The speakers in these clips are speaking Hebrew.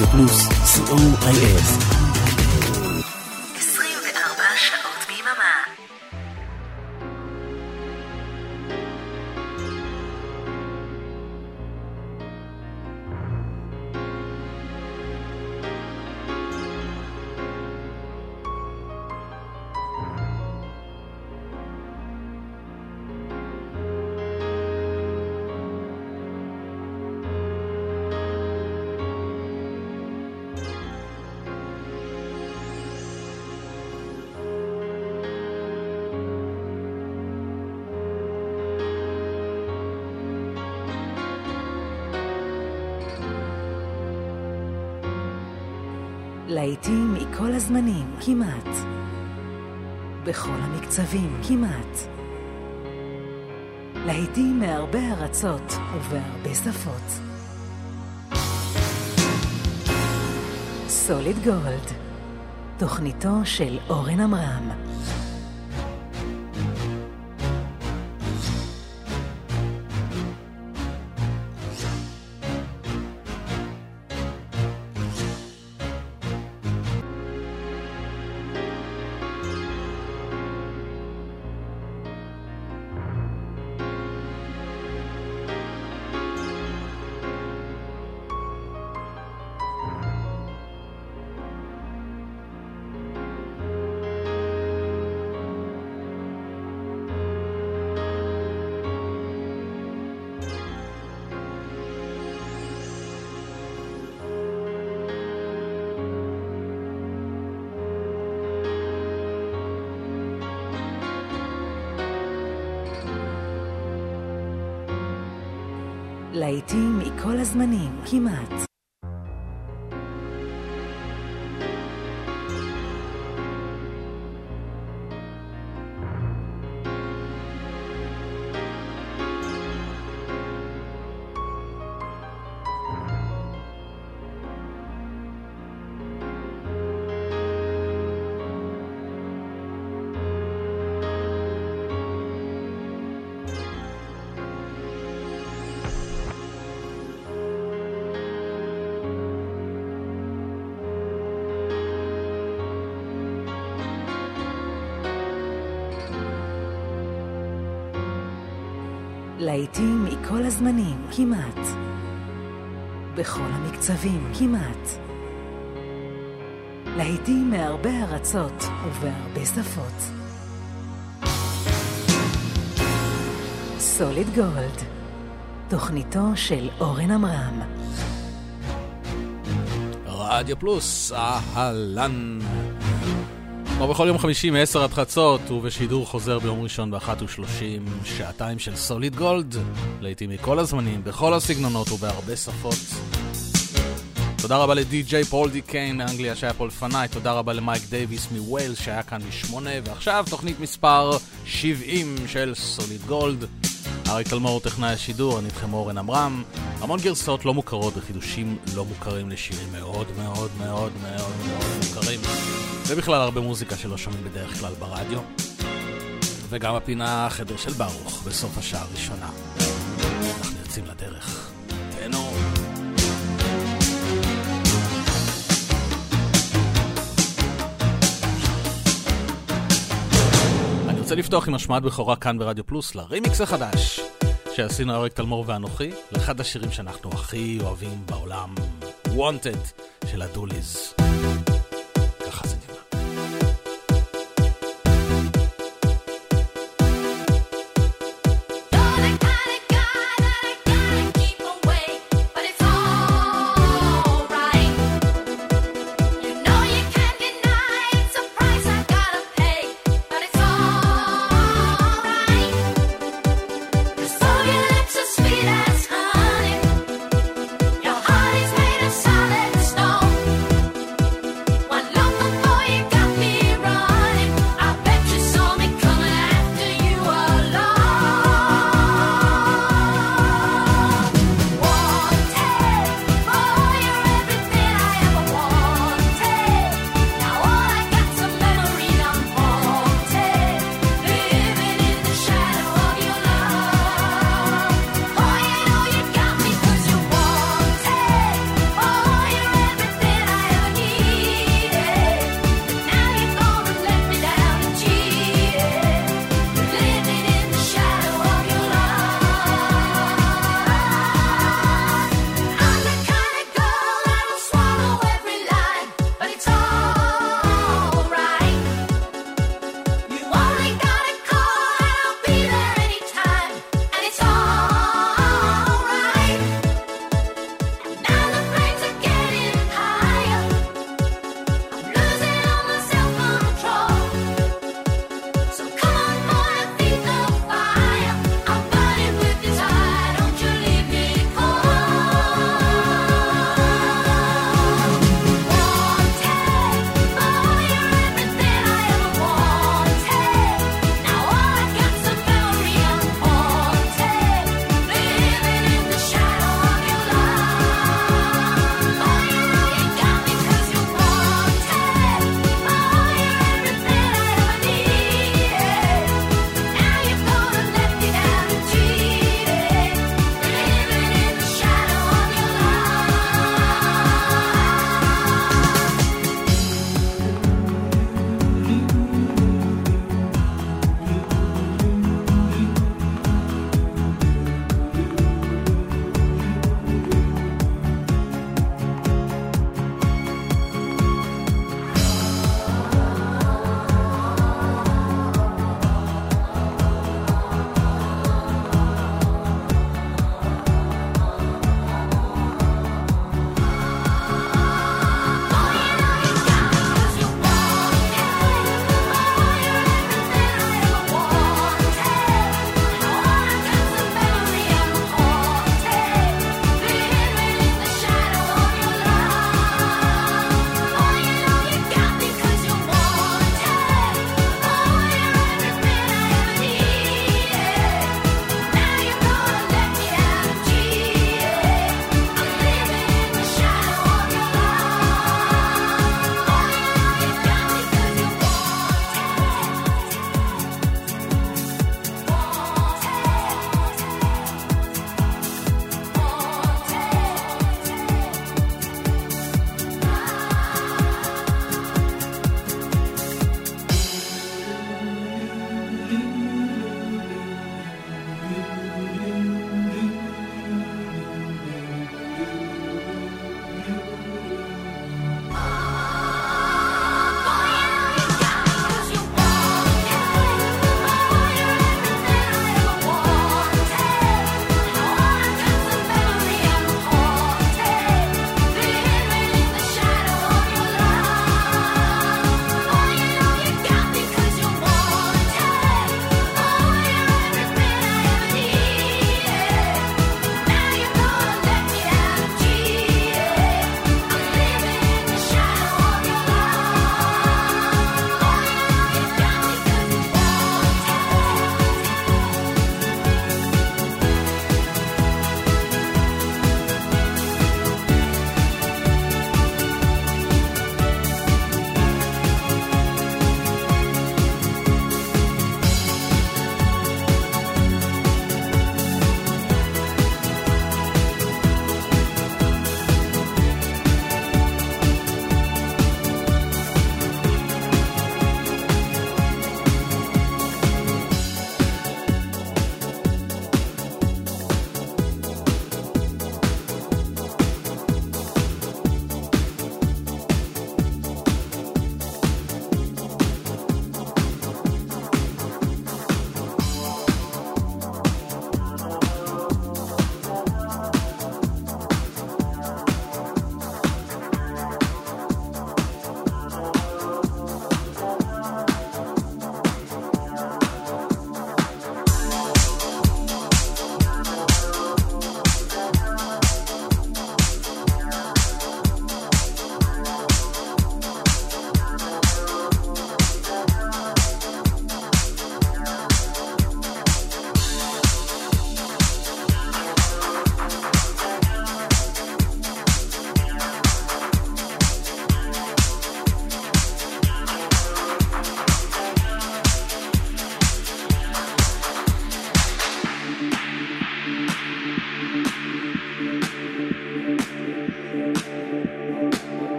רדיו פלוס, COIS. 24 שעות ביממה. להיטים מכל הזמנים, כמעט. בכל המקצבים, כמעט. להיטים מהרבה ארצות ובהרבה שפות. סוליד גולד, תוכניתו של אורן עמרם. להיטים מכל הזמנים, כמעט. להיטים מכל הזמנים, כמעט. בכל המקצבים, כמעט. להיטים מהרבה ארצות ובהרבה שפות. סוליד גולד, תוכניתו של אורן עמרם. רדיו פלוס, אהלן. כמו בכל יום חמישי מ-10 עד חצות, ובשידור חוזר ביום ראשון ב-1:30, שעתיים של סוליד גולד, לעתים מכל הזמנים, בכל הסגנונות ובהרבה שפות. תודה רבה לדי-ג'יי פול די קיין מאנגליה שהיה פה לפניי, תודה רבה למייק דייביס מווילס שהיה כאן ב-8, ועכשיו תוכנית מספר 70 של סוליד גולד. אריק תלמור טכנאי השידור, אני איתכם אורן עמרם. המון גרסאות לא מוכרות וחידושים לא מוכרים לשירים מאוד מאוד מאוד מאוד מאוד מוכרים. ובכלל הרבה מוזיקה שלא שומעים בדרך כלל ברדיו. וגם הפינה חדר של ברוך בסוף השעה הראשונה. אנחנו יוצאים לדרך. תהנו. אני רוצה לפתוח עם השמעת בכורה כאן ברדיו פלוס לרימיקס החדש שעשינו אריק תלמור ואנוכי לאחד השירים שאנחנו הכי אוהבים בעולם, Wanted של הדוליז. ככה זה נראה. Your heart is made of solid stone.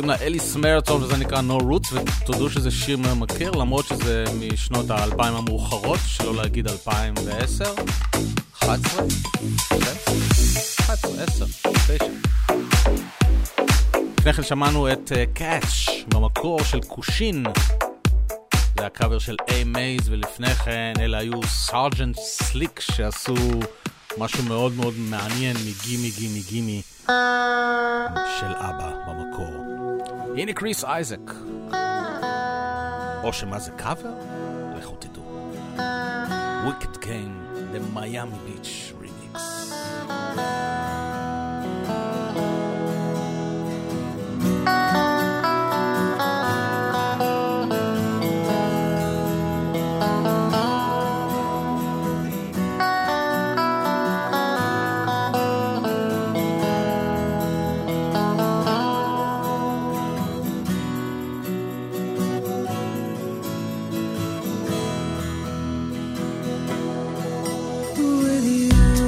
קוראים לה אליס מרטון וזה נקרא No Roots, ותודו שזה שיר ממכר למרות שזה משנות ה-2000 המאוחרות, שלא להגיד 2010, 11, 10, 9. לפני כן שמענו את Catch במקור של קושין, זה הקאבר של A-Maze, ולפני כן אלה היו סארג'נט סליק שעשו משהו מאוד מאוד מעניין מגימי גימי גימי של אבא במקור. הנה קריס אייזק, או שמה זה קאבר? לכו תדעו. Wicked Game, the Miami Beach Remix. With you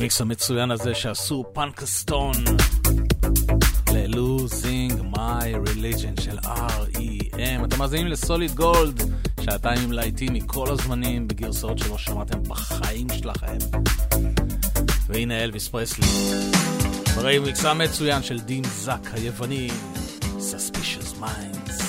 הרמיקס המצוין הזה שעשו פנקסטון ל-Losing My Religion של R.E.M. אתם מאזינים לסוליד גולד, שעתיים עם להיטים מכל הזמנים בגרסאות שלא שמעתם בחיים שלכם. והנה אלוויס פרסלי ברמיקס המצוין של דין זק היווני, Suspicious Minds.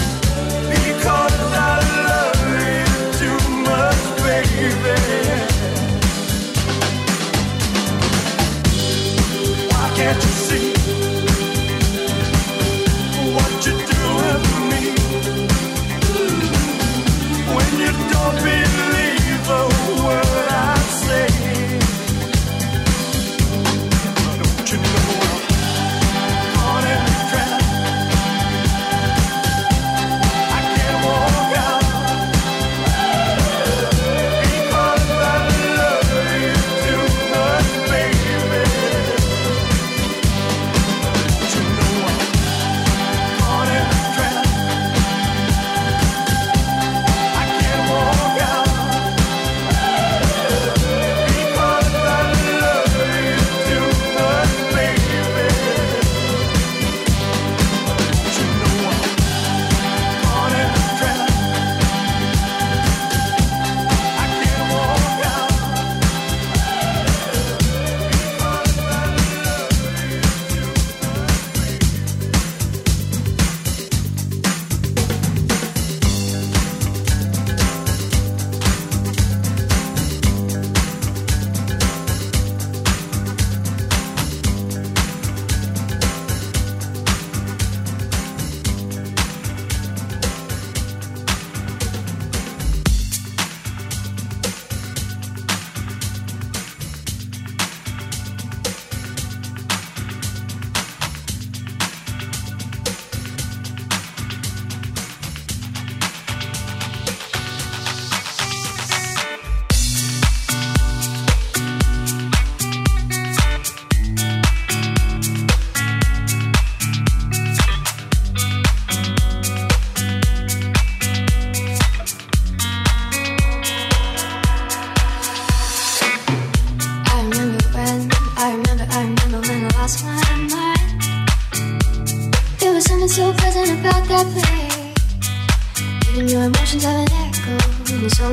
Because I love you too much, baby.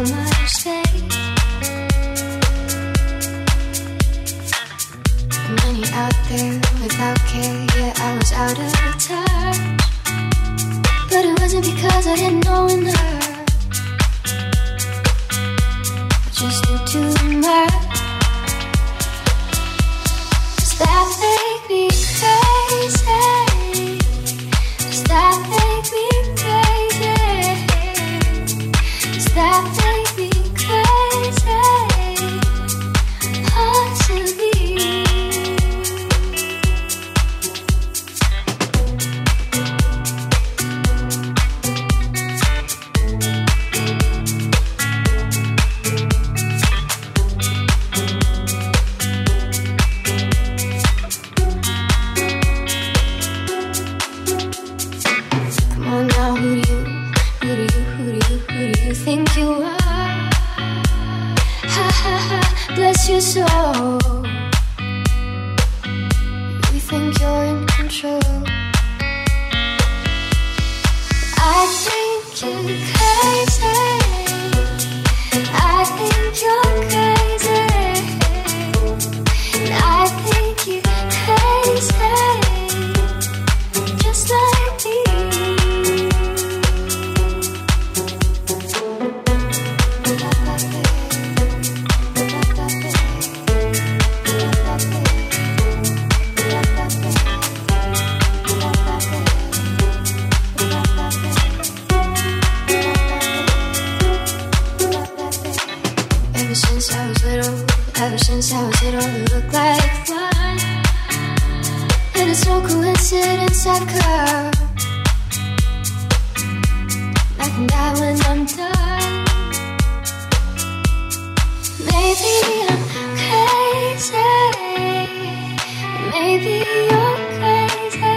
much space. Money out there without care, yeah, I was out of touch. But it wasn't because I didn't know enough, I just knew too much. Does that make me crazy? Does that make me crazy? Does that make me crazy? Possibly. Think you are, ha ha ha, bless your soul. You think you're in control. I think you're crazy. I think you're crazy. I think you're crazy, just like me. Ever since I was little, it looked like fun. And it's no coincidence I'd come. I can die when I'm done. Maybe I'm crazy. Maybe you're crazy.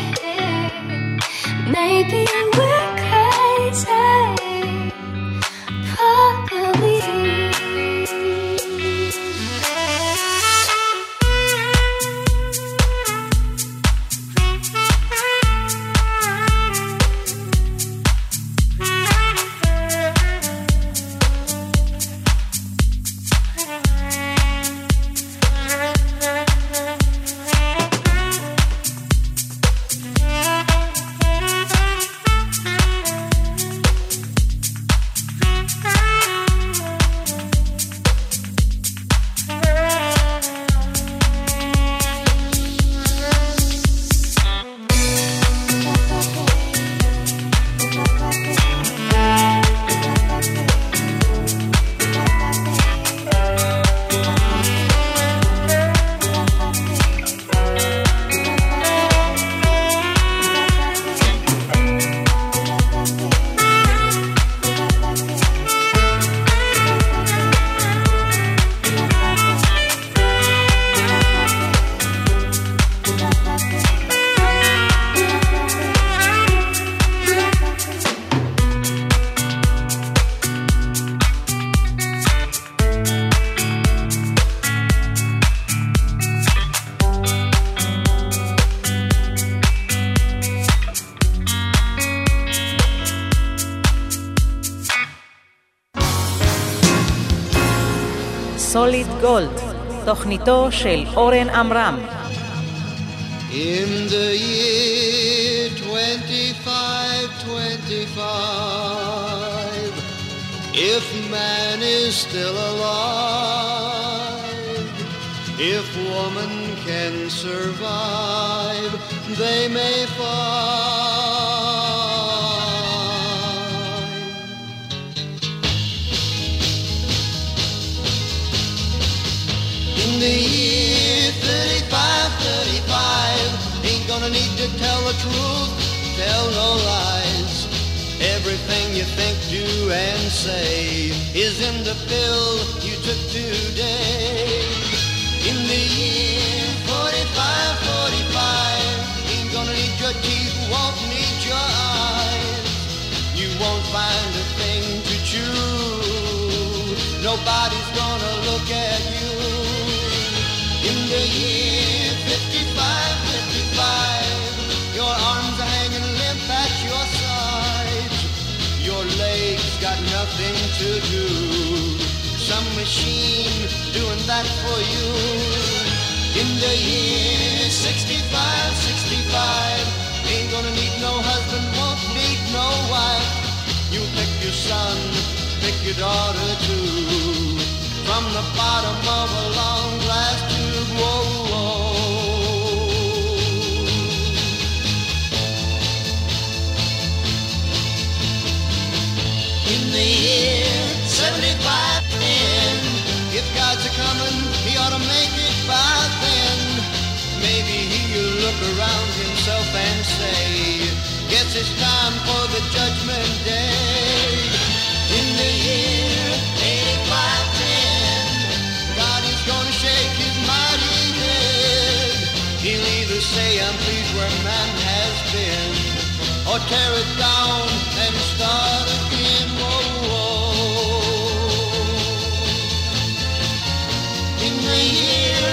Maybe we're crazy. Probably. סוליד גולד, תוכניתו של אורן עמרם. In the year 2525, if man is still alive, if woman can survive, they may find. In the year 3535, ain't gonna need to tell the truth, tell no lies. Everything you think, do, and say is in the pill you took today. In the year 4545, ain't gonna need your teeth, won't need your eyes. You won't find a thing to chew, nobody's gonna look at you. In the year 5555, your arms are hanging limp at your sides. Your legs got nothing to do. machine doing that for you. In the year 65, 65, ain't gonna need no husband, won't need no wife. You pick your son, pick your daughter too, from the bottom of a long glass tube. Whoa, whoa. In the year 75, then, if God's a-comin', he ought to make it by then. Maybe he'll look around himself and say, guess it's time for the judgment day. In the year 85-10, God is gonna shake his mighty head. He'll either say, I'm pleased where man has been, or tear it down and start again. Whoa, whoa. In the year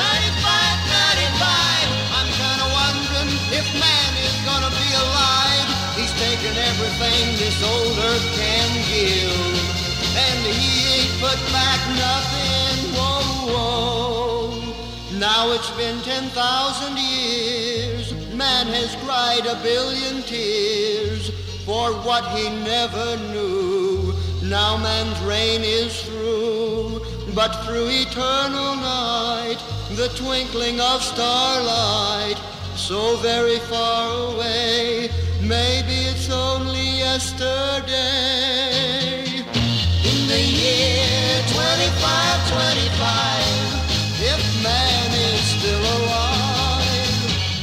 95, I'm kinda wondering if man is gonna be alive. He's taken everything this old earth can give, and he ain't put back nothing. Whoa, whoa. Now it's been 10,000 years. Man has cried a billion tears for what he never knew. Now man's reign is through, but through eternal night, the twinkling of starlight, so very far away, maybe it's only yesterday. In the year 25, if man is still alive.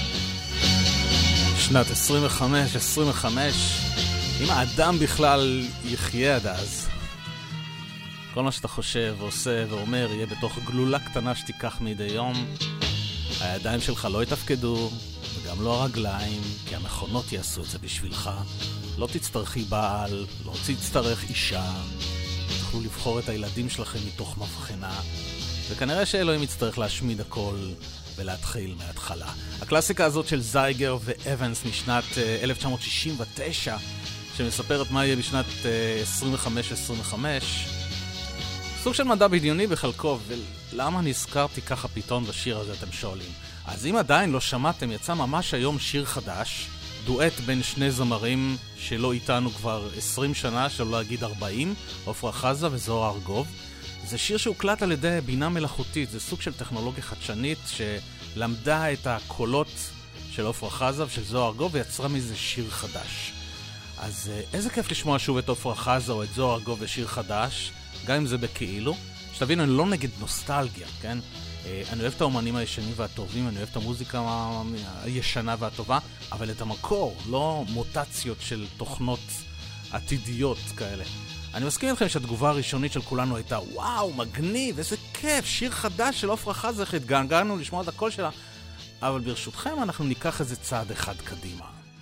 שנת 25, אם האדם בכלל יחיה עד אז, כל מה שאתה חושב ועושה ואומר יהיה בתוך גלולה קטנה שתיקח מדי יום. הידיים שלך לא יתפקדו, וגם לא הרגליים, כי המכונות יעשו את זה בשבילך. לא תצטרכי בעל, לא תצטרך אישה, תוכלו לבחור את הילדים שלכם מתוך מבחנה, וכנראה שאלוהים יצטרך להשמיד הכל ולהתחיל מההתחלה. הקלאסיקה הזאת של זייגר ואבנס משנת 1969, שמספרת מה יהיה בשנת 25, סוג של מדע בדיוני בחלקו, ולמה נזכרתי ככה פתאום בשיר הזה, אתם שואלים. אז אם עדיין לא שמעתם, יצא ממש היום שיר חדש, דואט בין שני זמרים שלא איתנו כבר 20 שנה, שלא להגיד 40, עופרה חזה וזוהר ארגוב. זה שיר שהוקלט על ידי בינה מלאכותית, זה סוג של טכנולוגיה חדשנית שלמדה את הקולות של עופרה חזה ושל זוהר ארגוב ויצרה מזה שיר חדש. אז איזה כיף לשמוע שוב את עופרה חזה או את זוהר ארגוב בשיר חדש, גם אם זה בכאילו. שתבינו, אני לא נגד נוסטלגיה, כן? אני אוהב את האומנים הישנים והטובים, אני אוהב את המוזיקה הישנה והטובה, אבל את המקור, לא מוטציות של תוכנות עתידיות כאלה. אני מסכים איתכם שהתגובה הראשונית של כולנו הייתה, וואו, מגניב, איזה כיף, שיר חדש של עופרה חזה, איך התגעגענו לשמוע את הקול שלה, אבל ברשותכם אנחנו ניקח איזה צעד אחד קדימה.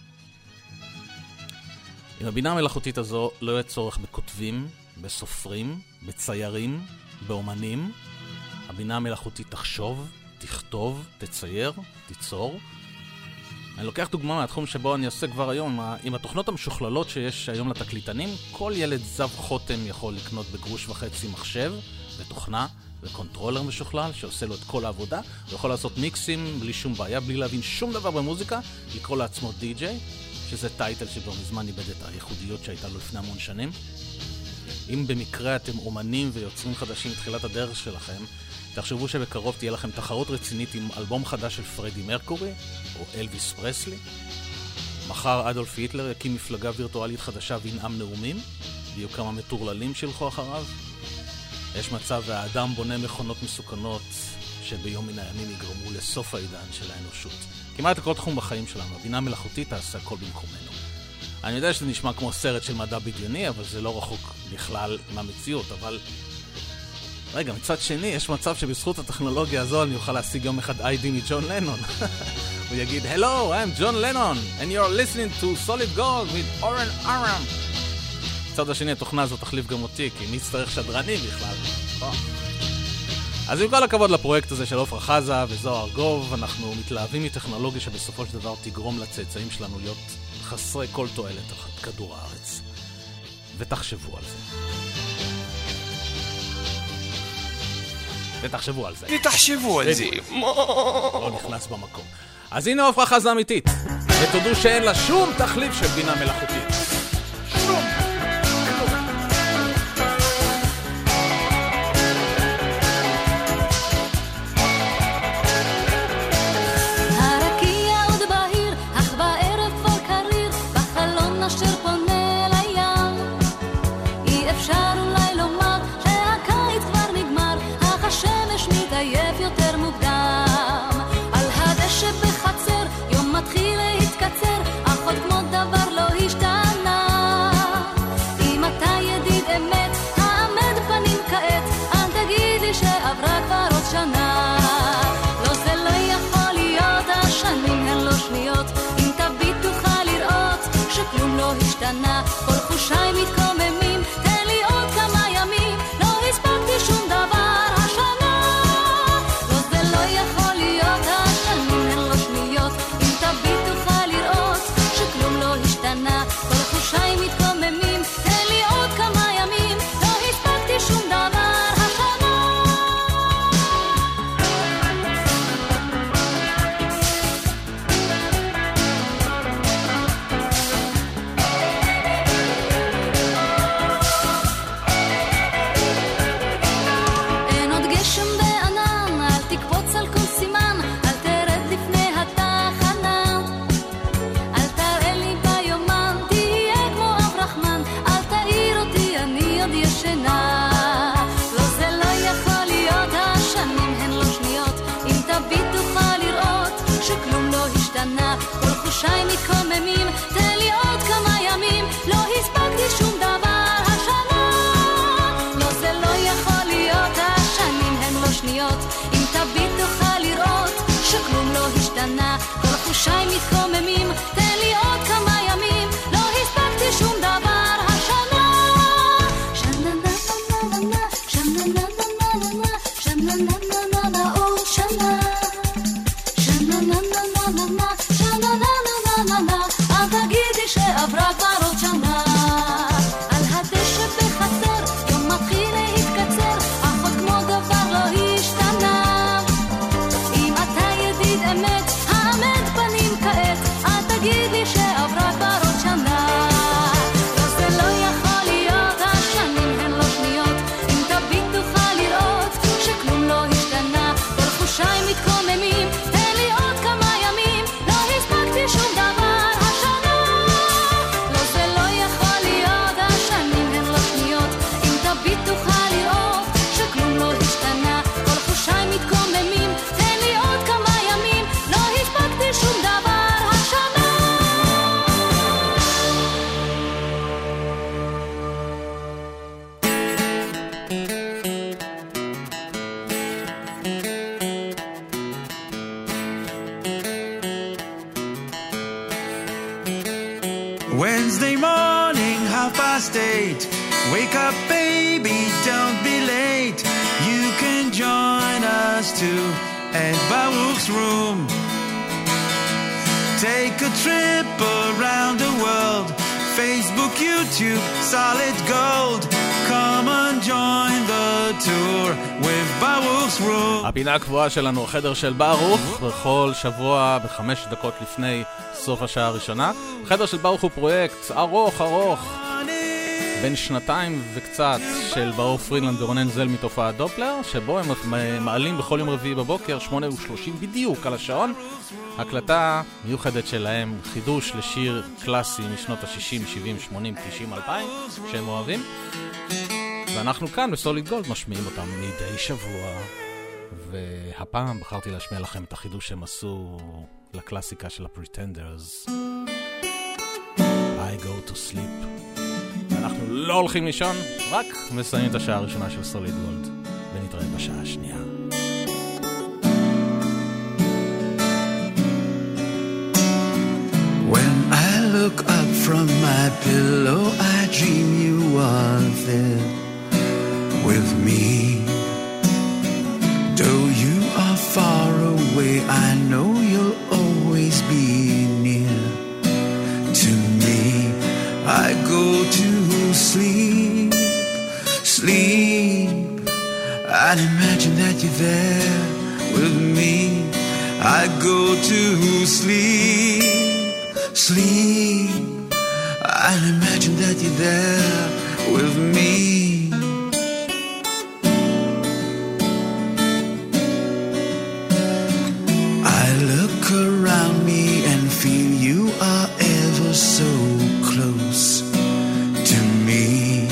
עם הבינה המלאכותית הזו לא יהיה צורך בכותבים, בסופרים, בציירים, באומנים. הבינה המלאכותית תחשוב, תכתוב, תצייר, תיצור. אני לוקח דוגמה מהתחום שבו אני עושה כבר היום, עם התוכנות המשוכללות שיש היום לתקליטנים, כל ילד זב חותם יכול לקנות בגרוש וחצי מחשב ותוכנה וקונטרולר משוכלל שעושה לו את כל העבודה, הוא יכול לעשות מיקסים בלי שום בעיה, בלי להבין שום דבר במוזיקה, לקרוא לעצמו די-ג'יי, שזה טייטל שבו מזמן איבד את הייחודיות שהייתה לו לפני המון שנים. אם במקרה אתם אומנים ויוצרים חדשים מתחילת הדרך שלכם, תחשבו שבקרוב תהיה לכם תחרות רצינית עם אלבום חדש של פרדי מרקורי או אלוויס פרסלי. מחר אדולף היטלר יקים מפלגה וירטואלית חדשה וינאם נאומים, ויהיו כמה מטורללים שילכו אחריו. יש מצב והאדם בונה מכונות מסוכנות שביום מן הימים יגרמו לסוף העידן של האנושות. כמעט כל תחום בחיים שלנו, הבינה מלאכותית תעשה הכל במקומנו. אני יודע שזה נשמע כמו סרט של מדע בדיוני, אבל זה לא רחוק בכלל מהמציאות. אבל רגע, מצד שני, יש מצב שבזכות הטכנולוגיה הזו אני אוכל להשיג יום אחד איי-די מג'ון לנון. הוא יגיד, Hello, I'm John Lennon, and you're listening to Solid Gold with Oren Aram. מצד השני, התוכנה הזו תחליף גם אותי, כי מי יצטרך שדרני בכלל. אז עם כל הכבוד לפרויקט הזה של עופרה חזה וזוהר ארגוב, אנחנו מתלהבים מטכנולוגיה שבסופו של דבר תגרום לצאצאים שלנו להיות חסרי כל תועלת על כדור הארץ. ותחשבו על זה. ותחשבו על זה. ותחשבו על זה. לא נכנס במקום. אז הנה ההופעה חזה אמיתית. ותודו שאין לה שום תחליף של בינה מלאכותית. שום. כל חושיי מתקוממים, תן לי עוד כמה ימים, לא הספקתי שום דבר השנה. לא זה לא יכול להיות, השנים הן לא שניות, אם תביט תוכל לראות שכלום לא השתנה. כל חושיי מתקוממים, תן לי עוד כמה ימים, לא הספקתי שום דבר השנה. כל חושיי מתקוממים, תן לי עוד כמה ימים, לא הספקתי שום דבר השנה. לא זה לא יכול להיות, השנים הן לא שניות, אם תביט תוכל לראות שכלום לא השתנה. כל חושיי מתקוממים, תן לי עוד כמה ימים, לא הספקתי שום דבר השנה. שנה נה נה נה נה, שנה נה נה נה נה, שנה נה נה נה עוד שנה. שנה נה נה נה נה, אל תגידי שעברה כבר עוד שנה. על הדשא בחצר יום מתחיל להתקצר, אך עוד כמו דבר לא השתנה. אם אתה ידיד אמת, העמד פנים כעת, אל תגידי שעברה כבר עוד שנה. לא זה לא יכול להיות, השנים הן לא שניות, אם תביט תוכל לראות שכלום לא השתנה. כל חושיי מתקוממים, תן לי עוד כמה ימים, לא הספקתי שום דבר. Wednesday morning, 8:30. Wake up, baby, don't be late. You can join us too at Baruch's room. Take a trip around the world. Facebook, YouTube, Solid Gold. Come and join the tour with Baruch's room. הפינה הקבועה שלנו, החדר של ברוך, בכל שבוע ב5 דקות לפני סוף השעה הראשונה. החדר של ברוך הוא פרויקט ארוך, בין 2 וקצת של ברוך פרילנד ורונן זל מתופעת דופלר, שבו הם מעלים בכל יום רביעי בבוקר 8:30 בדיוק על השעון, הקלטה מיוחדת שלהם, חידוש לשיר קלאסי משנות ה-60, 70, 80, 90, 2000 שהם אוהבים, ואנחנו כאן בסוליד גולד משמיעים אותם מדי שבוע. והפעם בחרתי להשמיע לכם את החידוש שהם עשו לקלאסיקה של הפריטנדרס, I go to sleep. אנחנו לא הולכים לישון, רק מסיימים את השעה הראשונה של סוליד גולד, ונתראה בשעה השנייה. When I look up from my pillow, I dream you are there with me. Though you are far away, I know you'll always be near to me. I go to sleep, sleep. I I'd imagine that you're there with me. I go to sleep, sleep. I'd imagine that you're there with me. I look around me and feel you are ever so close to me.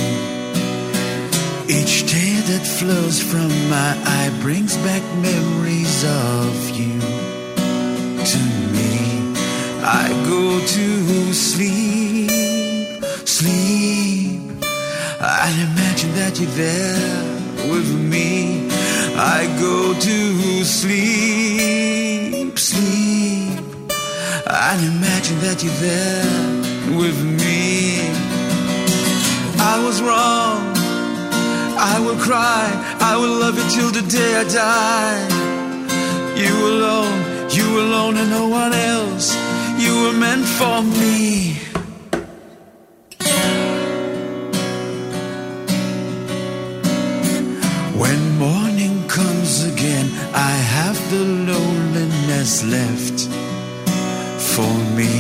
Each tear that flows from my eye brings back memories of you to me. I go to sleep, sleep. I'd imagine that you're there with me. I go to sleep, sleep. I'd imagine that you're there with me. I was wrong, I will cry, I will love you till the day I die. You alone and no one else. You were meant for me. When morning comes again, I have the loneliness left for me.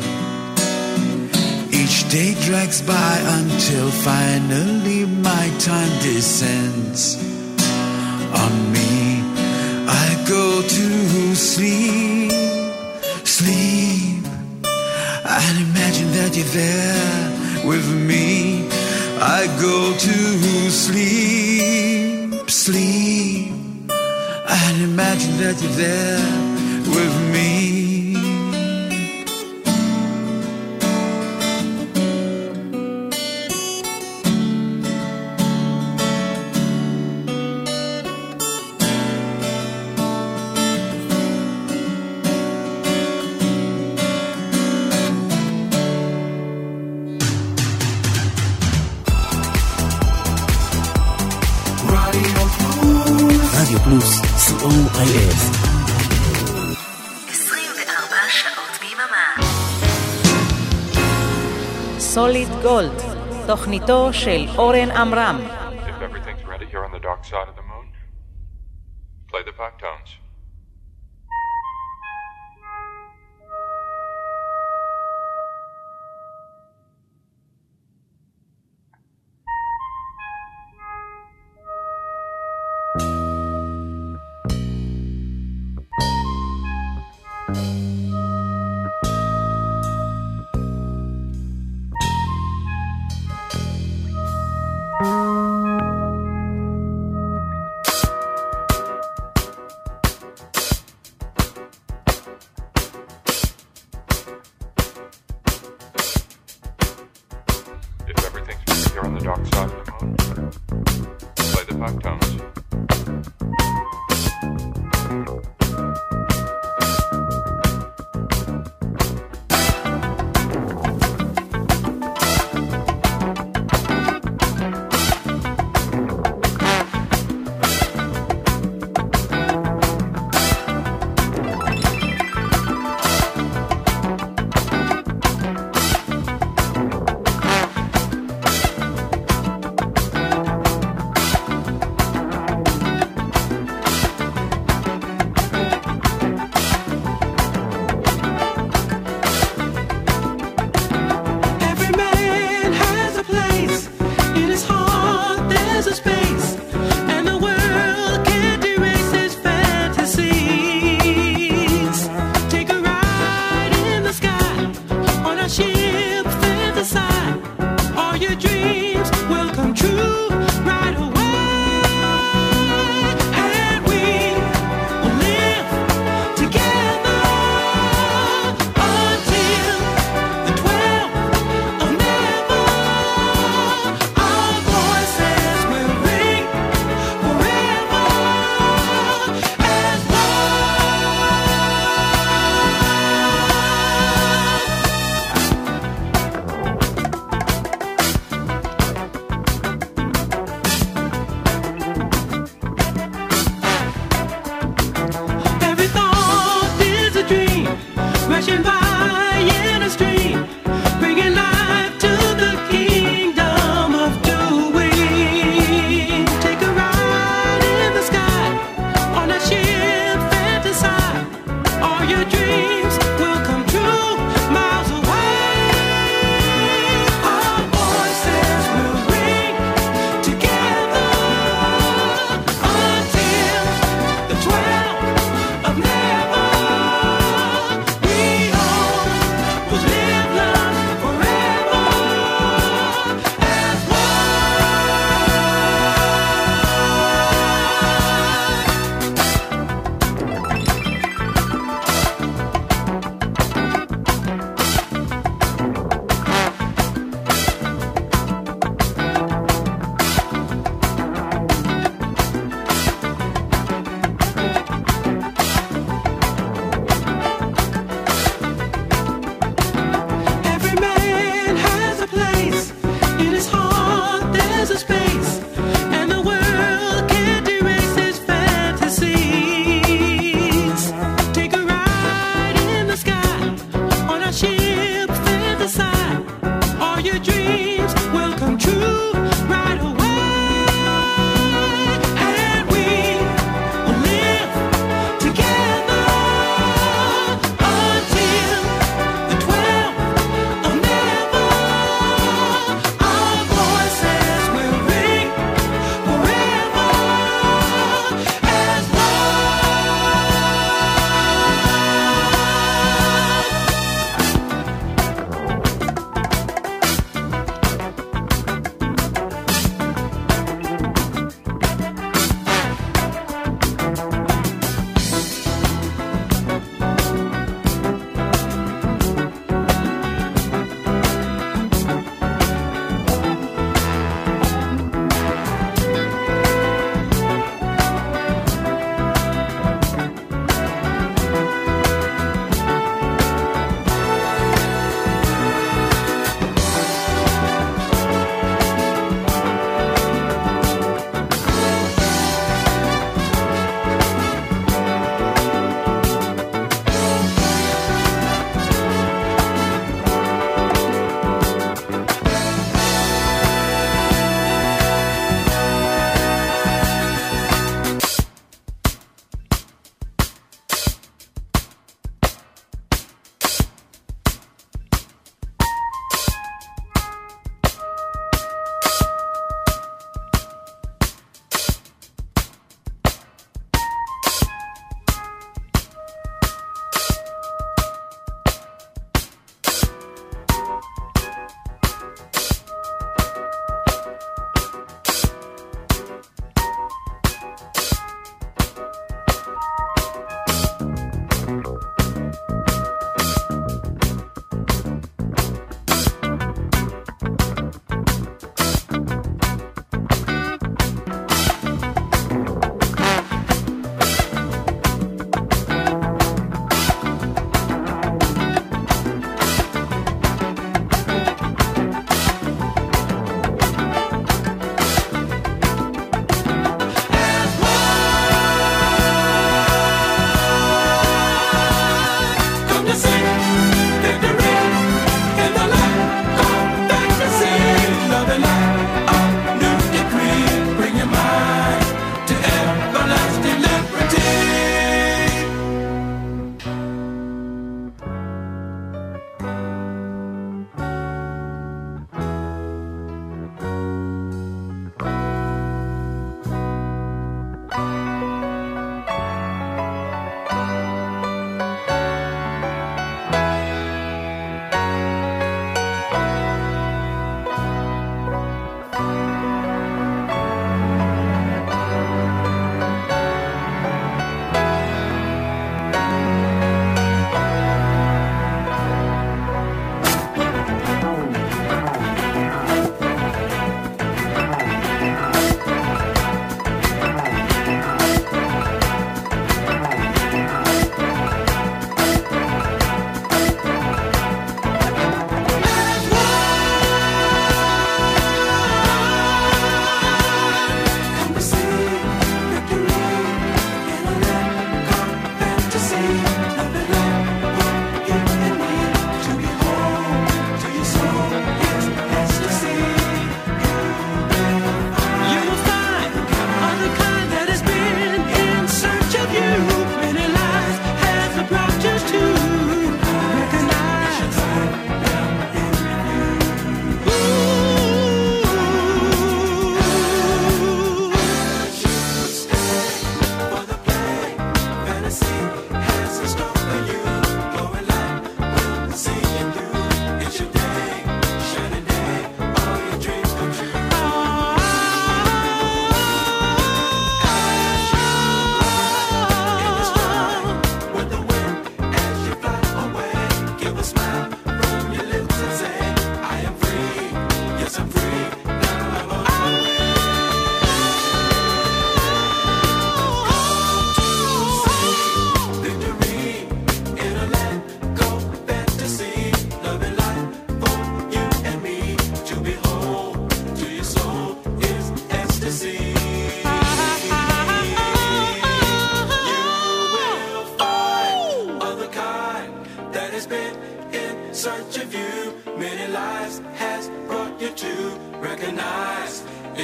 Each day drags by until finally my time descends on me. I go to sleep, sleep. I'd imagine that you're there with me. I go to sleep, sleep. I'd imagine that you're there with me. רדיו פלוס, COIF. 24 שעות ביממה. סוליד גולד, תוכניתו של אורן עמרם. If everything's ready here on the dark side of the moon, play the back tones. If everything's ready here on the dark side of the moon, play the back tones. Take a ride in the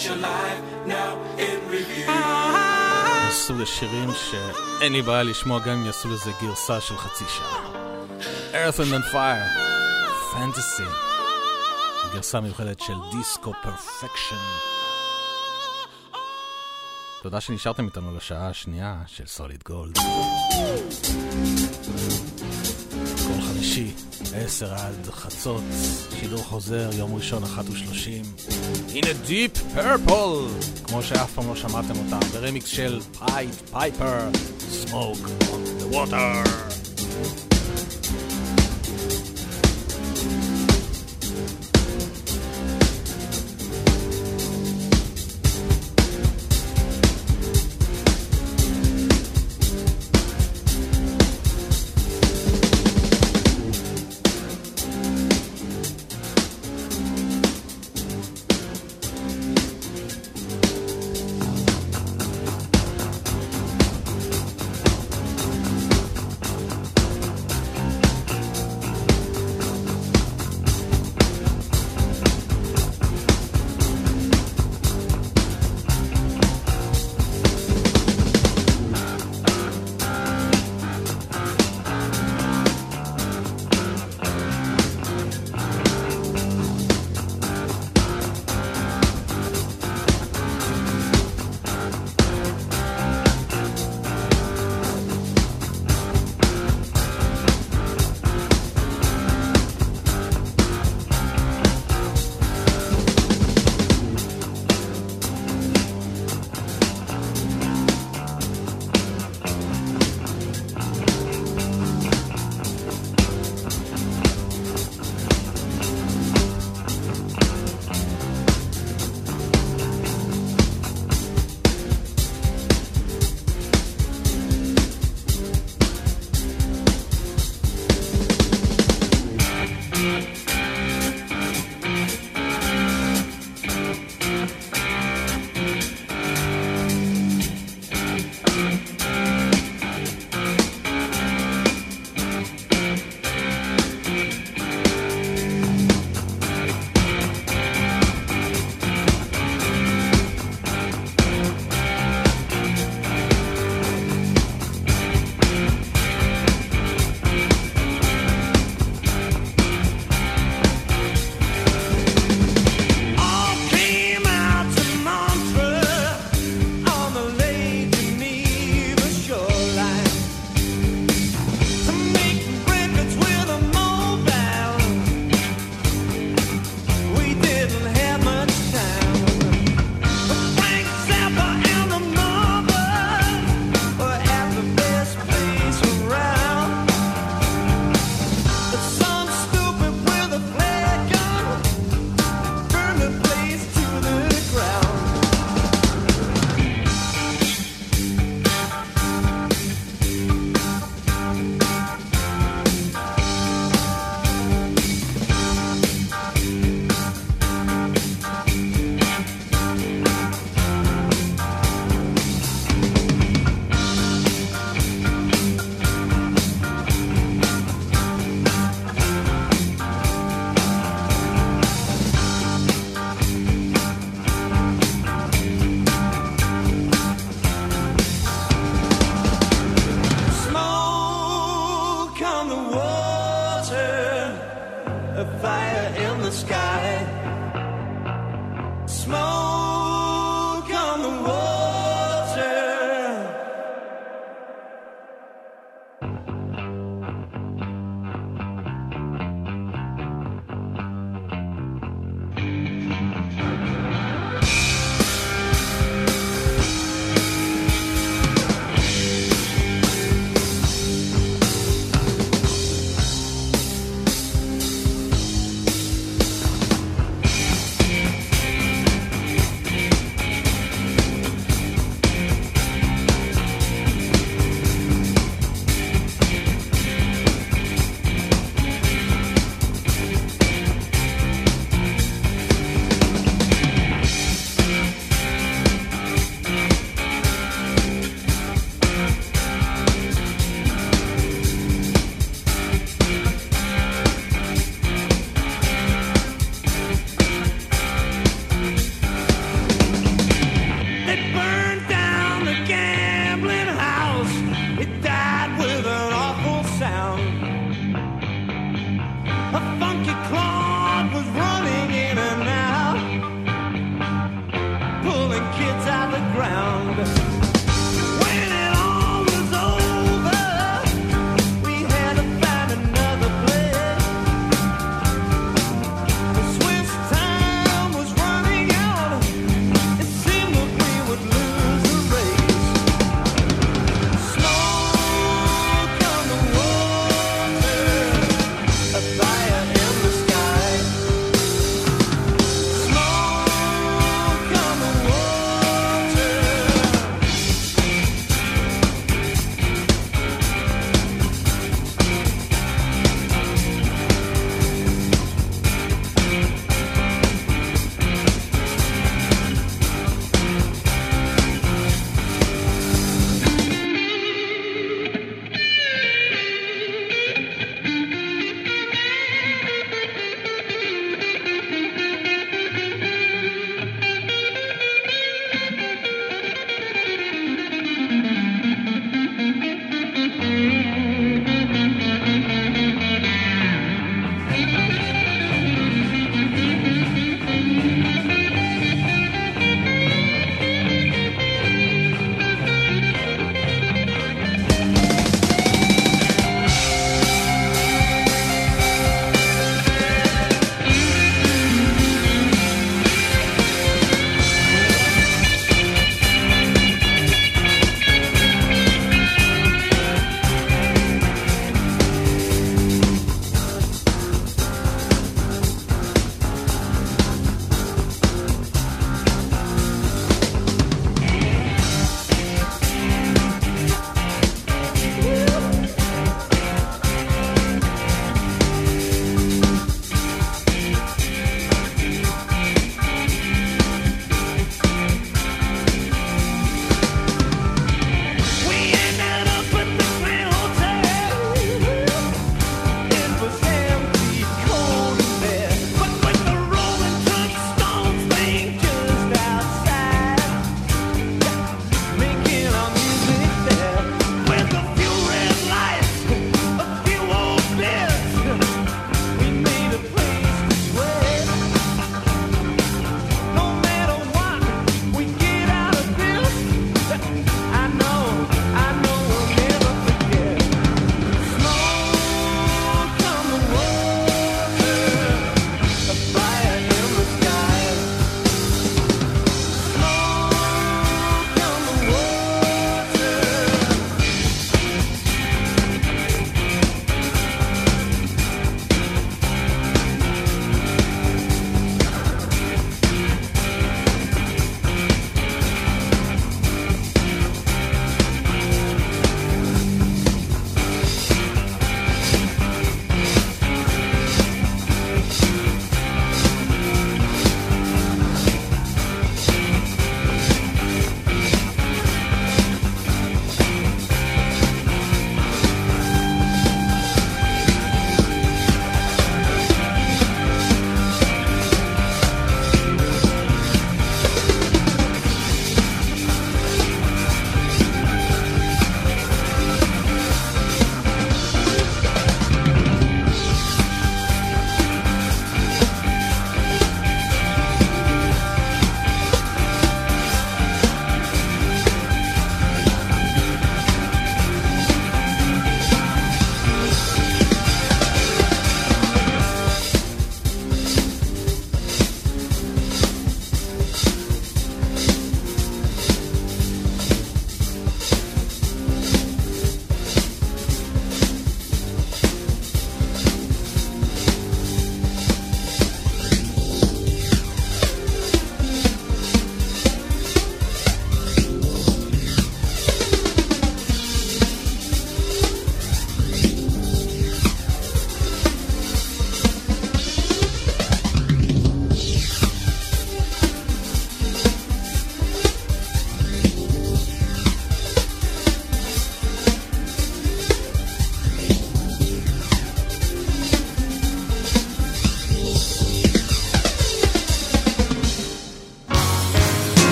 סוג השירים שאין לי בעיה לשמוע גם אם יעשו לזה גרסה של חצי שעה. Earth and Fire, Fantasy, גרסה מיוחדת של דיסקו פרפקשן. תודה שנשארתם איתנו לשעה השנייה של סוליד גולד. כל חמישי, 10 עד חצות, שידור חוזר, יום ראשון 1:30. In a Deep Purple, כמו שאף פעם לא שמעתם אותם, ברמיקס של Pied Piper, Smoke on the Water. All came out to Montreux on the Lake Geneva.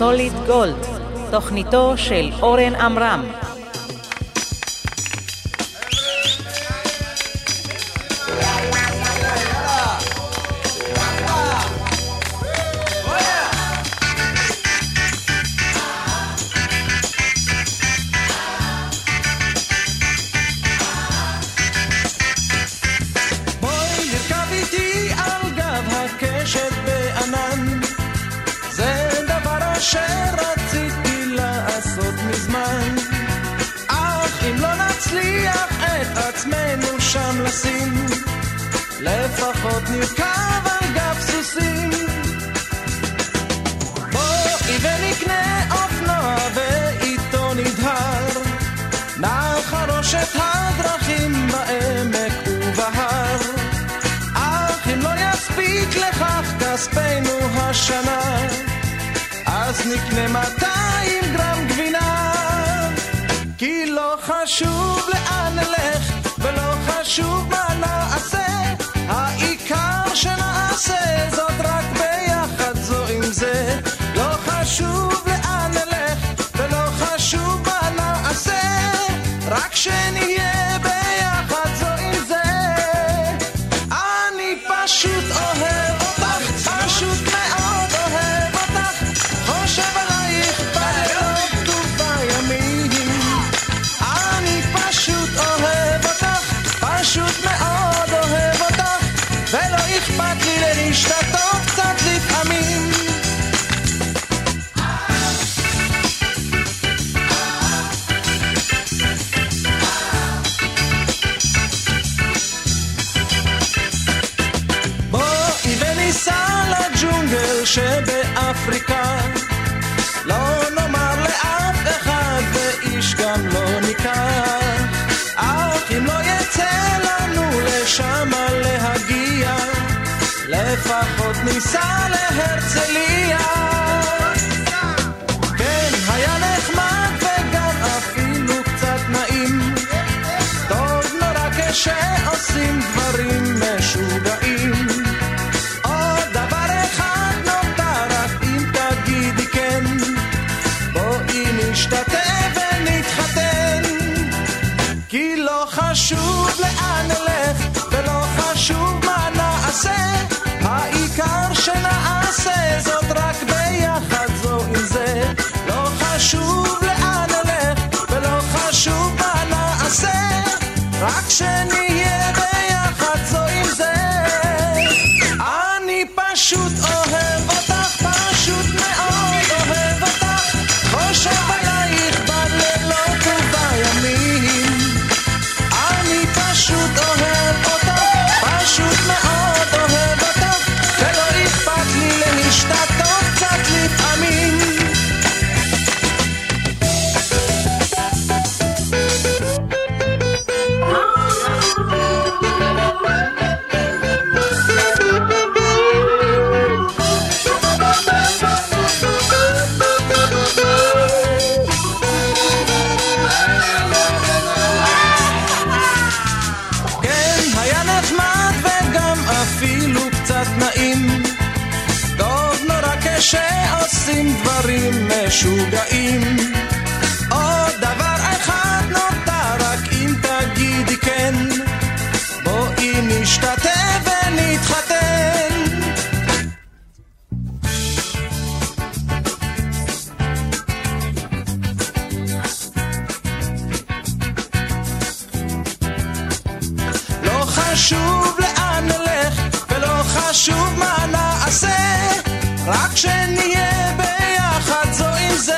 סוליד גולד, תוכניתו של אורן עמרם. שרציתי לעשות מזמן, אך אם לא נצליח את עצמנו שם לשים, לפחות נרכב על גב סוסים. בואי ונקנה אופנוע ואיתו נדהר, נחרוש את הדרכים בעמק ובהר, אך אם לא יספיק לכך כספנו השנה, אז נקנה 200 גרם גבינה. כי לא חשוב לאן נלך ולא חשוב מה נעשה, העיקר שנעשה זאת רק ביחד זו עם זה. לא חשוב לאן נלך ולא חשוב מה נעשה, רק שנהיה ביחד זו עם זה. אני פשוט אוהב אותך, פשוט מאוד אוהב אותך, חושב עלייך בלילות ובימים. אני פשוט אוהב אותך, פשוט מאוד אוהב אותך, ולא אכפת לי להשתתות קצת לפעמים. בואי וניסע לג'ונגל שבאפריקה, לא נאמר לאף אחד ואיש גם לא ניקח, אך אם לא יצא לנו לשם להגיע, לפחות ניסע להרצליה. כן, היה נחמד וגם אפילו קצת נעים, טוב נורא כשעושים דברים משוגעים. עוד דבר אחד נותר, רק אם תגידי כן, בואי נשתתף ונתחתן. כי לא חשוב לאן נלך ולא חשוב מה נעשה, העיקר שנעשה זאת רק ביחד זו עם זה. לא חשוב לאן נלך ולא חשוב מה נעשה, רק שנהיה ביחד זו עם זה. אני פשוט אוהב אותך, פשוט מאוד אוהב אותך, חושב עלייך בלילות ובימים. אני פשוט אוהב אותך, פשוט מאוד אוהב אותך, ולא אכפת לי להשתתות קצת לפעמים. כן, היה נחמד וגם אפילו קצת נעים, טוב נורא כשעושים דברים משוגעים. עוד דבר אחד נותר, רק אם תגידי כן, בואי נשתתף ונתחתן. לא חשוב לאן נלך ולא חשוב מה נעשה, רק שנהיה ביחד זו עם זה.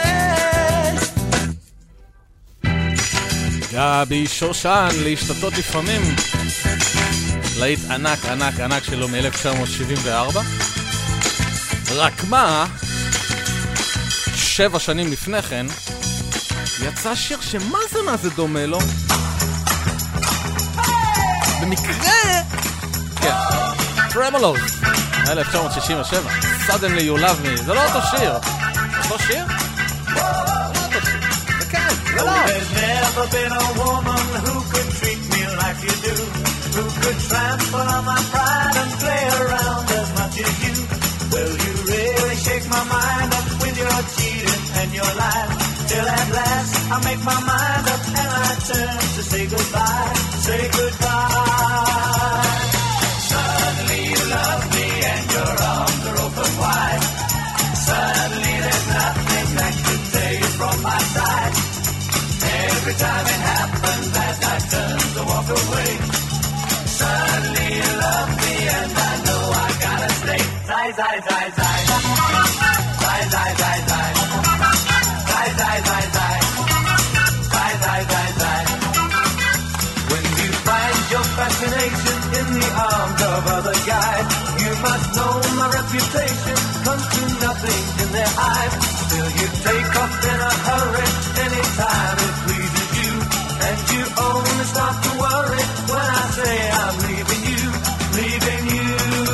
גבי שושן, להשתתות לפעמים. להיט ענק ענק ענק שלו מ-1974. רק מה, 7 שנים לפני כן יצא שיר שמה זה דומה לו. במקרה כן, טרמולוס 1967, Suddenly You Love Me. זה לא אותו שיר. אותו שיר? There's never been a woman who could treat me like you do, who could trample on my pride and play around as much as you. Well, you really shake my mind up with your cheating till at last I make my mind up and I turn to say goodbye, say goodbye. Suddenly you love me and your arms are open wide. Suddenly there's nothing that could tear you from my side. Every time it happens as I turn to walk away. Suddenly you love me and I know I gotta stay. Zai, zai, zai, zai. Zai, zai, zai, zai. Zai, zai, zai, zai. Zai, zai, zai, zai. When you find your fascination in the arms of other guys, you must know my reputation comes to nothing in their eyes. Still you take off in a hurry anytime it pleases you, and you only start to worry when I say I'm leaving you, leaving you.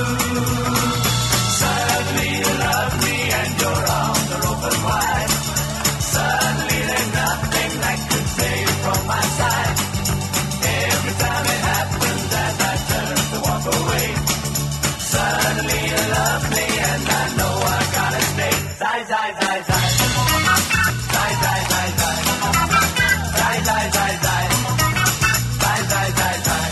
Suddenly you love me and your arms are open wide. Suddenly there's nothing that could tear you from my side. Every time it happens as I turn to walk away. Suddenly you love me and I know I gotta stay. Zai, zai, zai, zai. Zai, zai, zai, zai. Zai, zai, zai, zai. Zai, zai, zai, zai.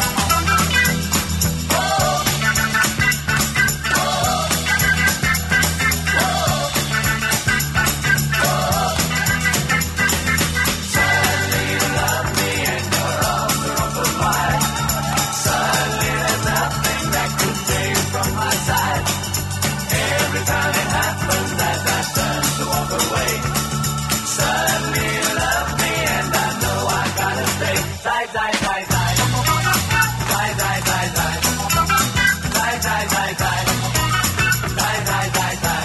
Suddenly you love me and your arms are open wide. Suddenly there's nothing that could tear you from my side. Every time it happens as I turn to walk away. Suddenly you love me and I know I gotta stay. Zai, zai, zai, zai. Zai, zai, zai, zai. Zai, zai, zai, zai. Zai, zai, zai, zai.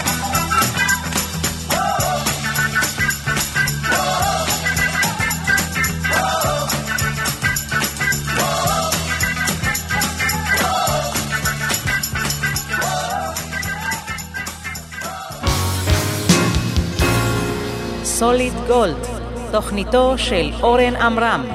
סוליד גולד, תוכניתו של אורן עמרם.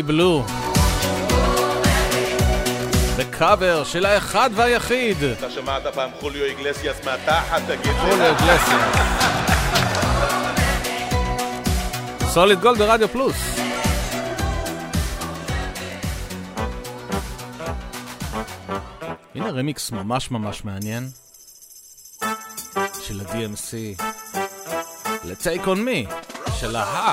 בלו. בקאבר של האחד והיחיד. אתה שמעת פעם חוליו איגלסיאס מהתחת, תגיד. חוליו איגלסיאס. סוליד גולד ברדיו פלוס. הנה רמיקס ממש ממש מעניין של ה-DMC ל-Take on Me של ה...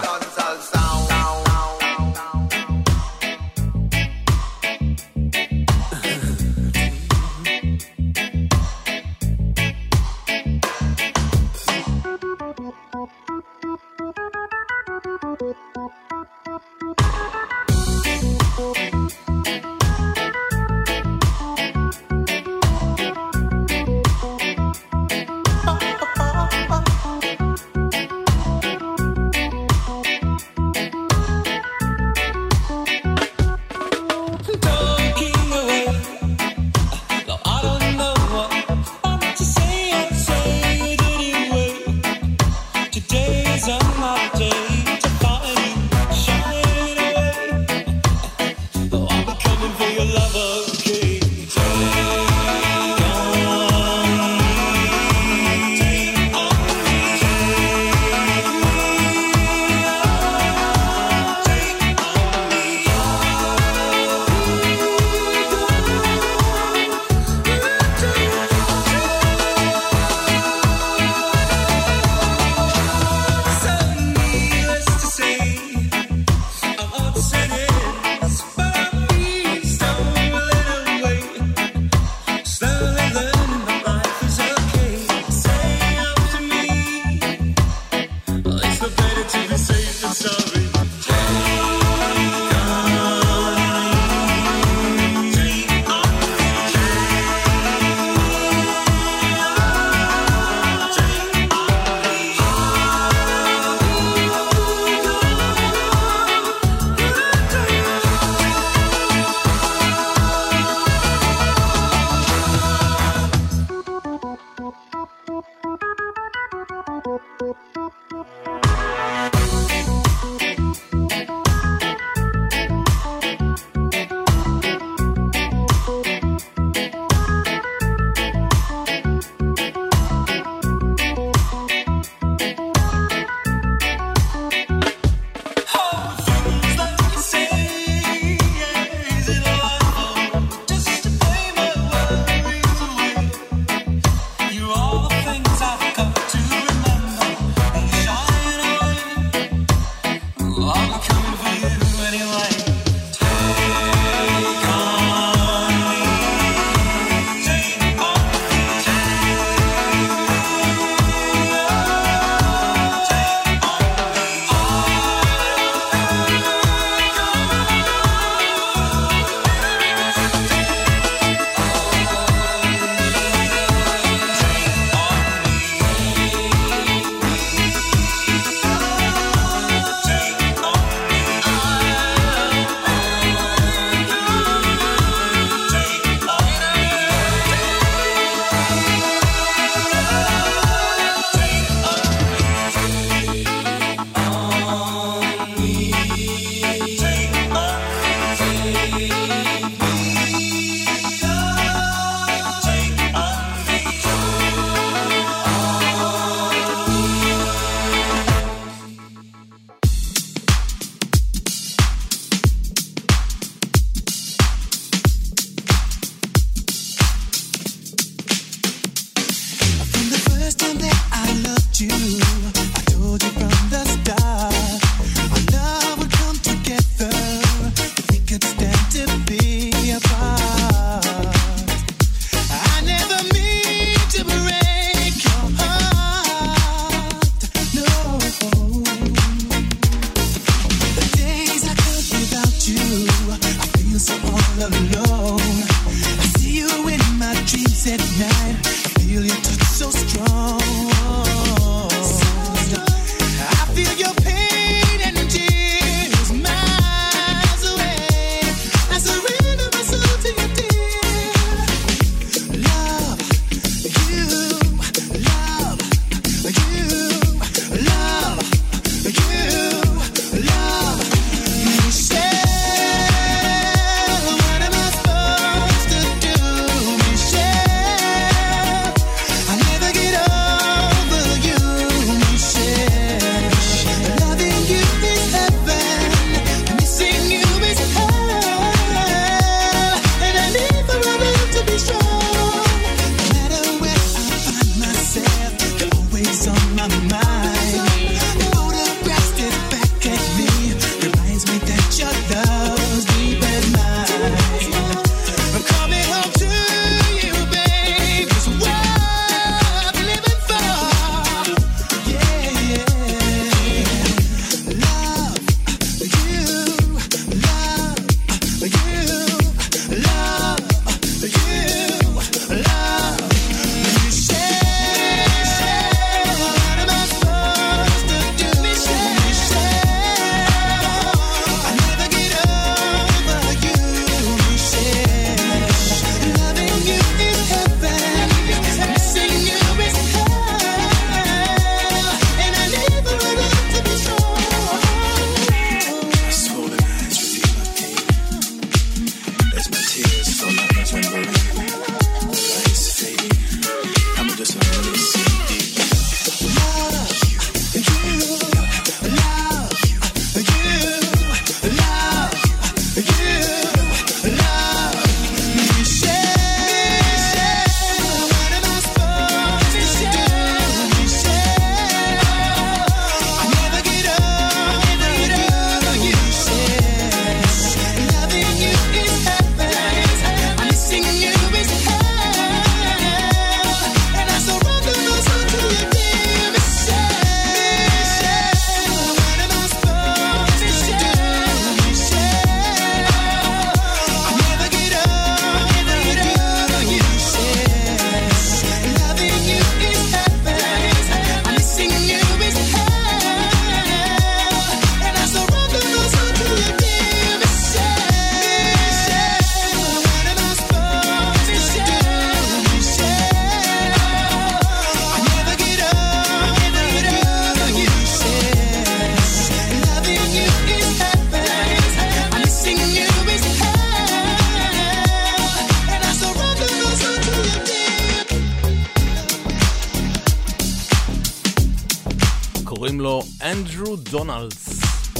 לו אנדרו דונלדס.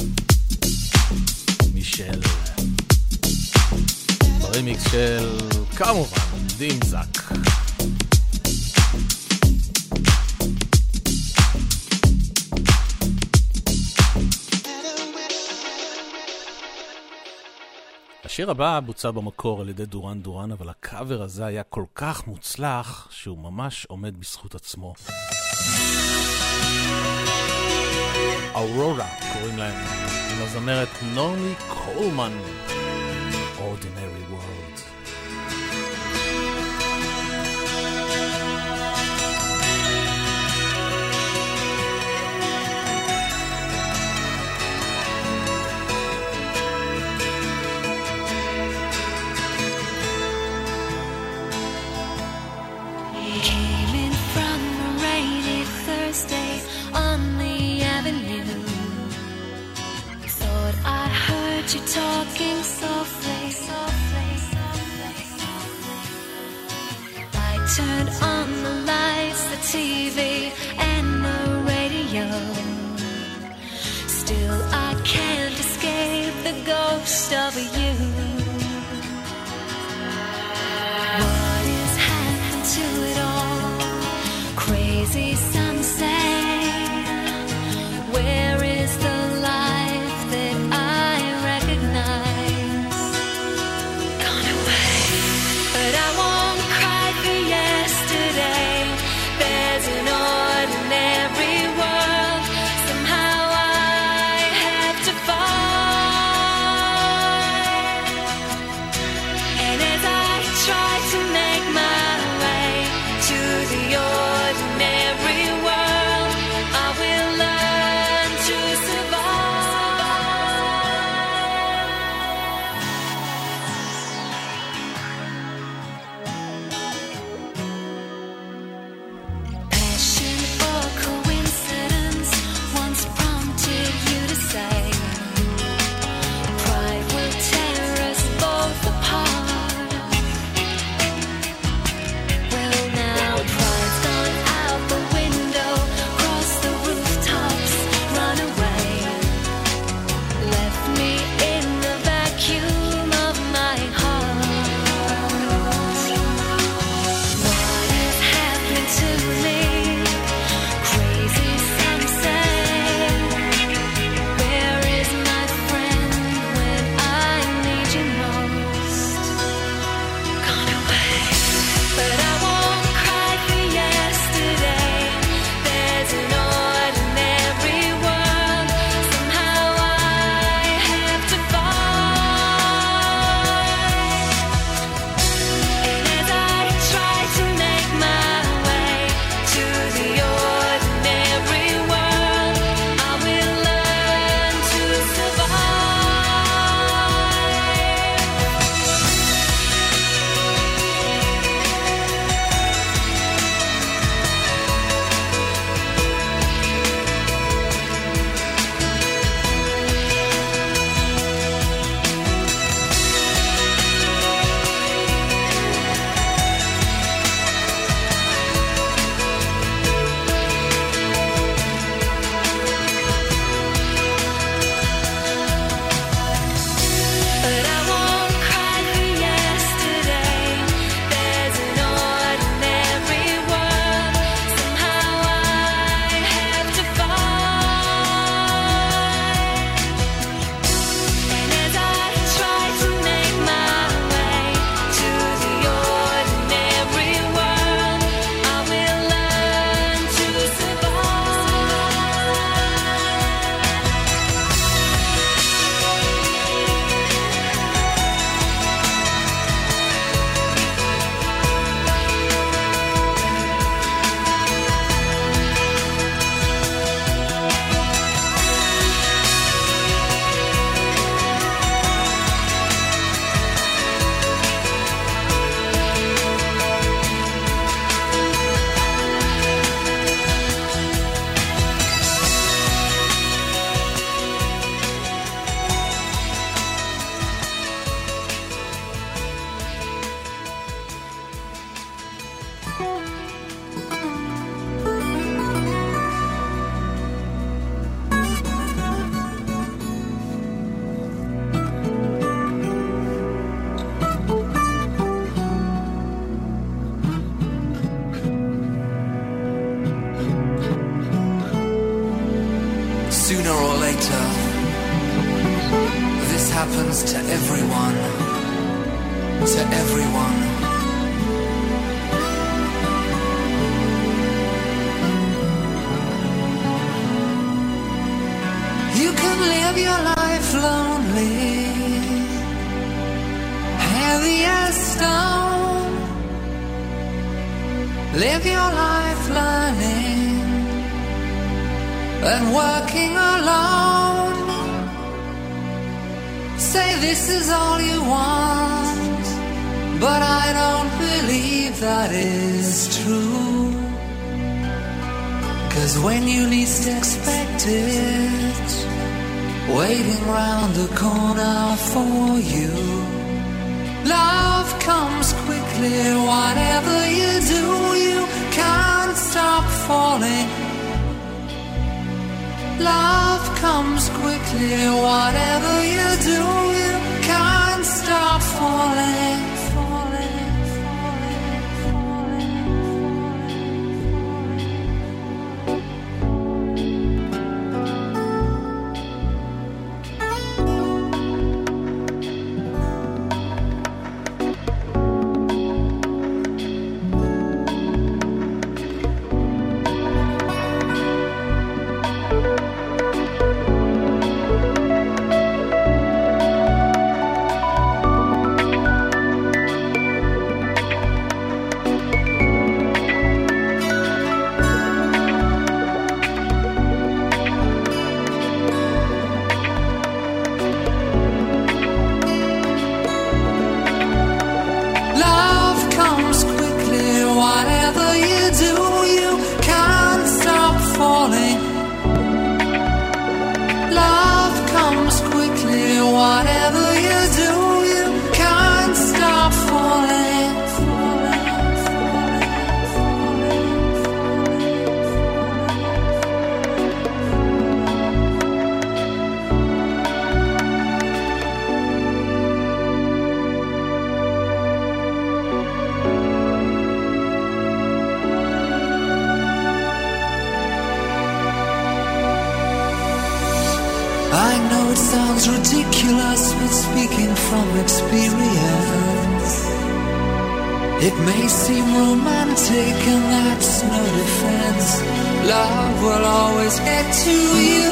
מישל. ברימיקס של כמובן דים זק. השיר הבא בוצע במקור על ידי דורן דורן, אבל הקאבר הזה היה כל כך מוצלח שהוא ממש עומד בזכות עצמו. אורורה קוראים להם, עם הזמרת נורלי קולמן. Ordinary World. You talking softly, softly, softly. I turned on the lights, the TV, and the radio. Still, I can't escape the ghost of you. What is happened to it all? Crazy, some say. Where is the life that I recognize? Gone away, but I won't cry for yesterday. There's an ordinary world. Somehow I have to find. later. This happens to everyone. To everyone. You can live your life lonely, heavy as stone. Live your life learning and working alone. Say this is all you want, but I don't believe that is true. 'Cause when you least expect it, waiting round the corner for you, love comes quickly. Whatever you do, you can't stop falling. Love comes quickly. Whatever you do, you can't stop falling. Ridiculous, but speaking from experience, it may seem romantic, and that's no defense. Love will always get to you.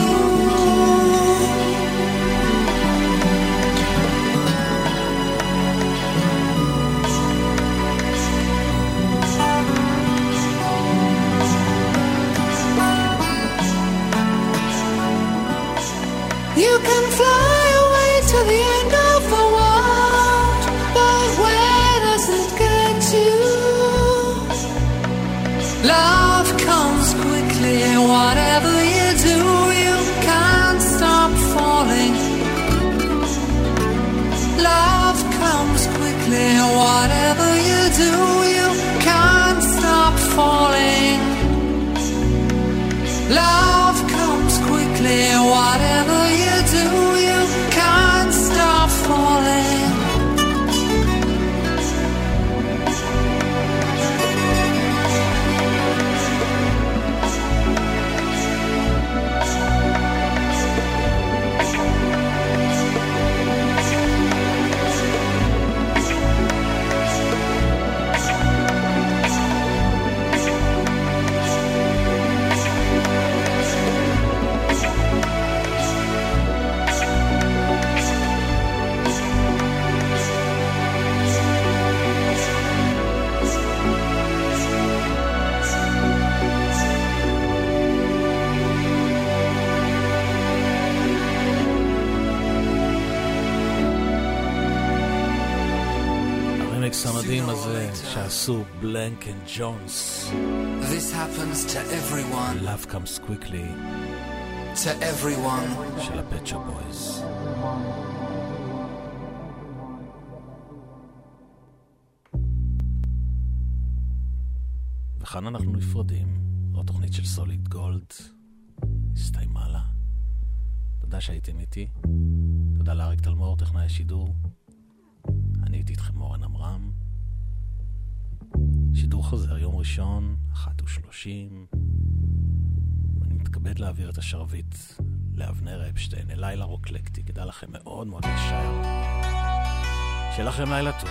You can fly away to the end of the world, but where does it get you? Love comes quickly. Whatever you do, you can't stop falling. Love comes quickly. Whatever you do, you can't stop falling. Love comes quickly. Whatever you do, you can't stop falling. המדהים הזה שעשו בלנק אנד ג'ונס. This happens to everyone. Love comes quickly. To everyone. של הפט שופ בויז. וכאן אנחנו נפרדים. התוכנית של סוליד גולד הסתיימה לה. תודה שהייתם איתי. תודה לאריק תלמור, טכנאי השידור. אני הייתי איתכם אורן אמרם. שידור חוזר יום ראשון 1:30. אני מתכבד להעביר את השרביט לאבנר אפשטיין, לילה רוקלקטי, כדאי לכם מאוד מאוד להישאר. שיהיה לכם לילה טוב.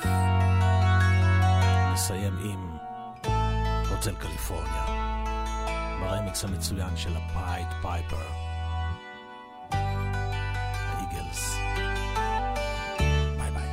נסיים עם הוטל קליפורניה, ברמיקס המצוין של הפייד פייפר, האיגלס. ביי ביי.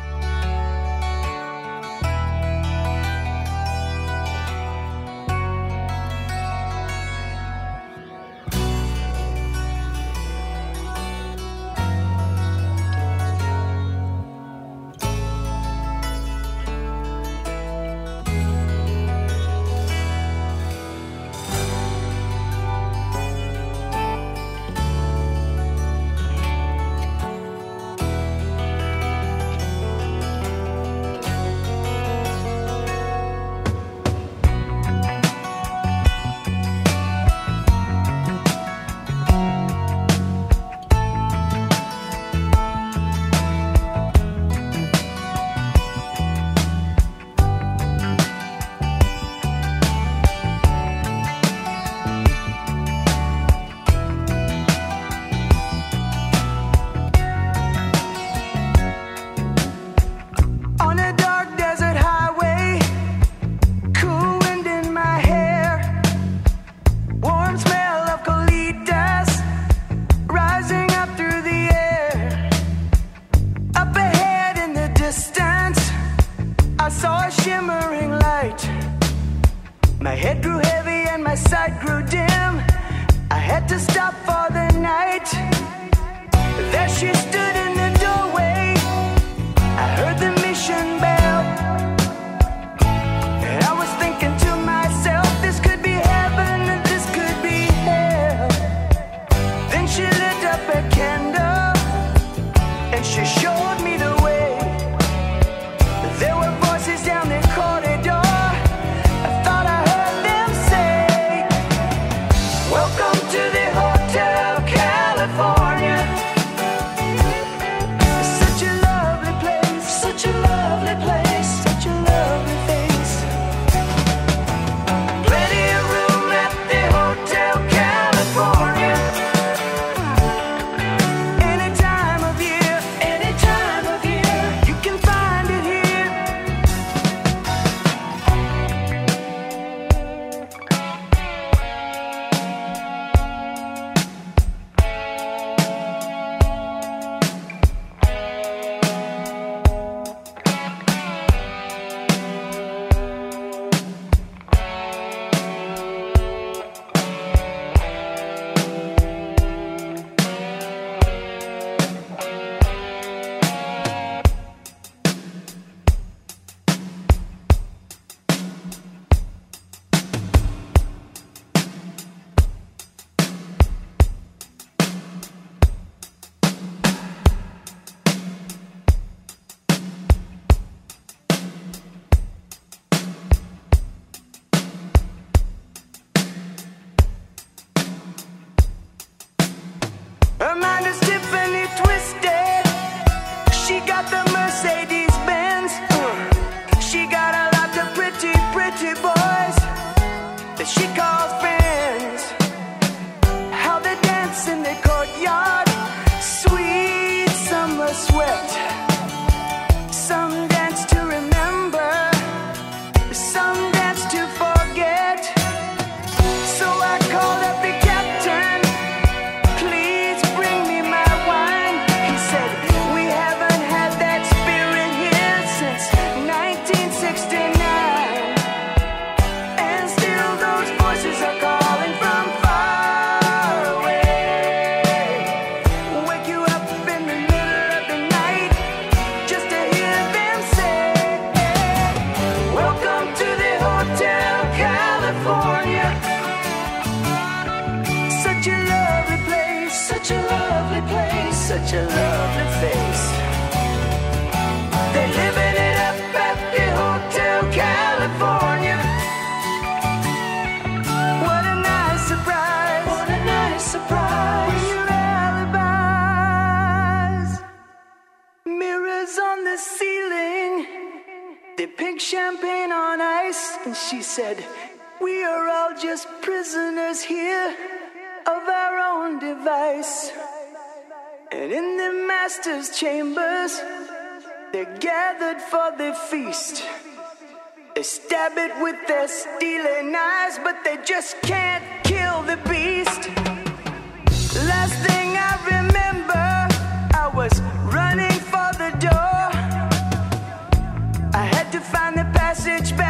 Champagne on ice, and she said, we are all just prisoners here of our own own device. And in the master's chambers, they're gathered for the feast. They stab it with their stealing eyes, but they just can't kill the beast. Last thing I remember, I was running for the door. I had to find the passage back